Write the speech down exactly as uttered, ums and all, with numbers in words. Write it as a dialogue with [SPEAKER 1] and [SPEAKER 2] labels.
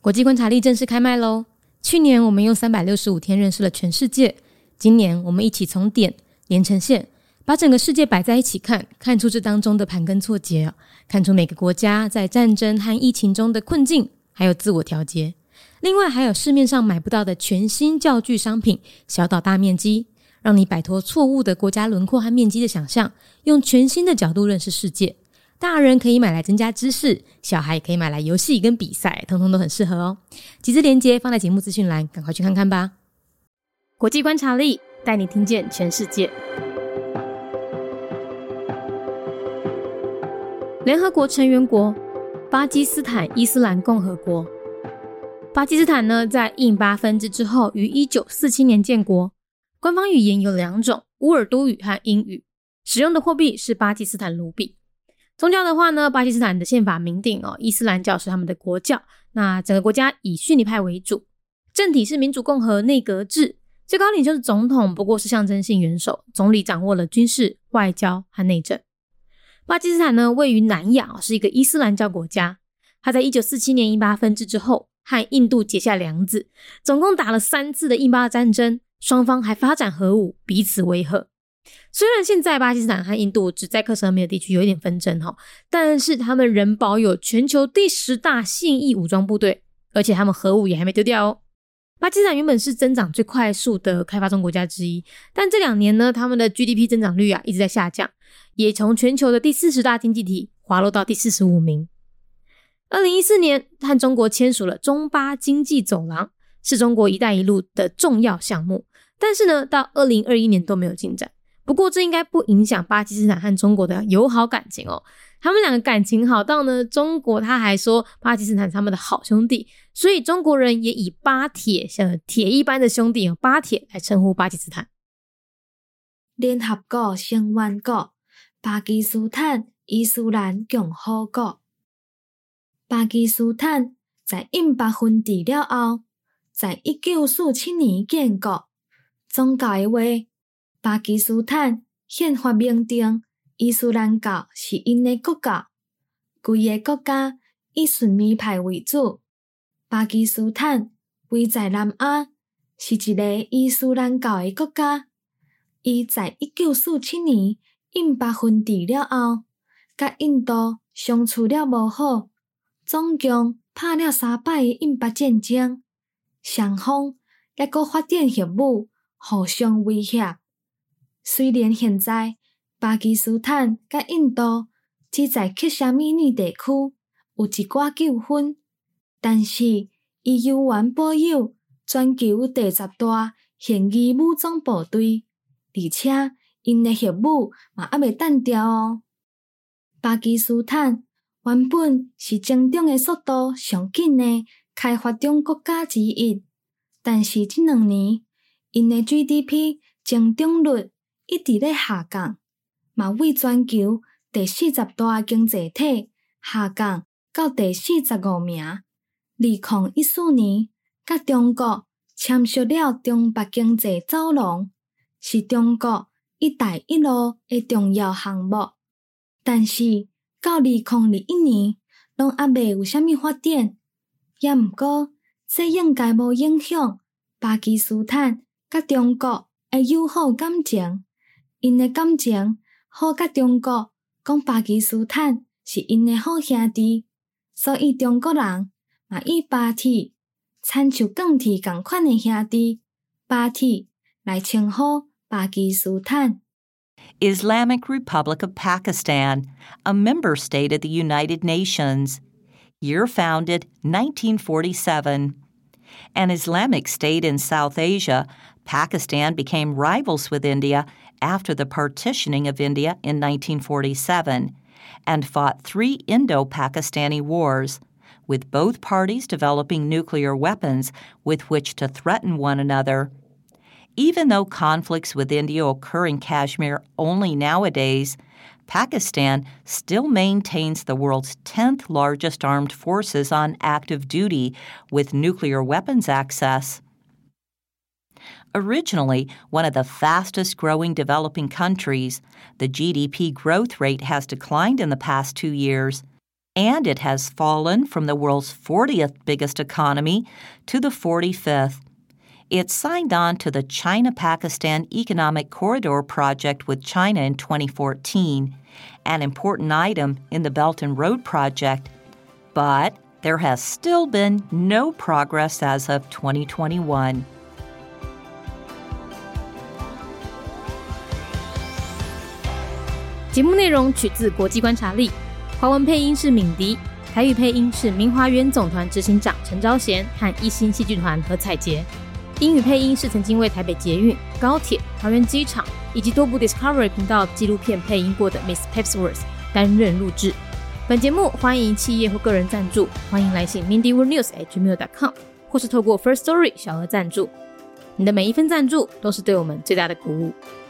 [SPEAKER 1] 国际观察力正式开麦咯。去年我们用三百六十五天认识了全世界，今年我们一起从点连成线，把整个世界摆在一起看，看出这当中的盘根错节，看出每个国家在战争和疫情中的困境，还有自我调节。另外还有市面上买不到的全新教具商品，小岛大面积，让你摆脱错误的国家轮廓和面积的想象，用全新的角度认识世界。大人可以买来增加知识，小孩也可以买来游戏跟比赛，通通都很适合哦。集资连结放在节目资讯栏，赶快去看看吧。国际观察力带你听见全世界。联合国成员国巴基斯坦伊斯兰共和国。巴基斯坦呢，在印巴分治之后于一九四七年建国，官方语言有两种，乌尔都语和英语，使用的货币是巴基斯坦卢比。宗教的话呢，巴基斯坦的宪法明定哦，伊斯兰教是他们的国教，那整个国家以逊尼派为主，政体是民主共和内阁制，最高领袖是总统，不过是象征性元首，总理掌握了军事、外交和内政。巴基斯坦呢，位于南亚，是一个伊斯兰教国家，它在一九四七年印巴分治之后和印度结下梁子，总共打了三次的印巴战争，双方还发展核武，彼此威吓。虽然现在巴基斯坦和印度只在克什米尔地区有一点纷争，但是他们仍保有全球第十大现役武装部队，而且他们核武也还没丢掉哦。巴基斯坦原本是增长最快速的开发中国家之一，但这两年呢，他们的 G D P 增长率啊一直在下降，也从全球的第四十大经济体滑落到第四十五名。二零一四年和中国签署了中巴经济走廊，是中国一带一路的重要项目，但是呢，到二零二一年都没有进展。不过这应该不影响巴基斯坦和中国的友好感情哦，他们两个感情好到呢，中国他还说巴基斯坦是他们的好兄弟，所以中国人也以巴铁像铁一般的兄弟巴铁来称呼巴基斯坦。
[SPEAKER 2] 联合国成员国巴基斯坦伊斯兰共和国。巴基斯坦在印巴分治了后，在一九四七年建国。宗教的话，巴基斯坦宪法明定伊斯兰教是因的国教，规个国家以逊尼派为主。巴基斯坦位在南亚，是一个伊斯兰教的国家。伊在一九四七年印巴分治了后，甲印度相处了无好，总共拍了三摆的印巴战争，双方还阁发展核武，互相威胁。虽然现在巴基斯坦甲印度只在克什米尔地区有一寡纠纷，但是伊犹原保有全球第十大现役武装部队，而且因的核武嘛还未弹掉哦。巴基斯坦原本是增长的速度上紧的开发中国家之一，但是这两年因的 G D P 增长率一直咧下降，嘛为全球第四十大经济体下降到第四十五名。二零一四年，甲中国签署了中巴经济走廊，是中国一带一路的重要项目。但是到二零二一年，拢还未有啥物发展。也毋过，这应该无影响巴基斯坦甲中国的友好感情。因的感情好甲中国讲巴基斯坦是因的好兄弟，所以中国人嘛以巴铁亲像钢铁同款的兄弟巴铁来称呼巴基斯坦。
[SPEAKER 3] Islamic Republic of Pakistan, a member state of the United Nations. Year founded nineteen forty-seven. An Islamic state in South Asia, Pakistan became rivals with India after the partitioning of India in nineteen forty-seven and fought three Indo-Pakistani wars, with both parties developing nuclear weapons with which to threaten one another. Even though conflicts with India occur in Kashmir only nowadays, Pakistan still maintains the world's tenth largest armed forces on active duty with nuclear weapons access. Originally one of the fastest-growing developing countries, the G D P growth rate has declined in the past two years. and it has fallen from the world's fortieth biggest economy to the forty-fifth. It signed on to the China-Pakistan Economic Corridor project with China in twenty fourteen, an important item in the Belt and Road project, but there has still been no progress as of twenty twenty-one.
[SPEAKER 1] 节目内容取自国际观察力，华文配音是敏迪，台语配音是明华园总团执行长陈昭贤和一星戏剧团何彩杰，英语配音是曾经为台北捷运、高铁、桃园机场以及多部 Discovery 频道纪录片配音过的 Miss Pepsworth 担任录制。本节目欢迎企业或个人赞助，欢迎来信 mindy world news at gmail dot com 或是透过 First Story 小额赞助。你的每一份赞助都是对我们最大的鼓舞。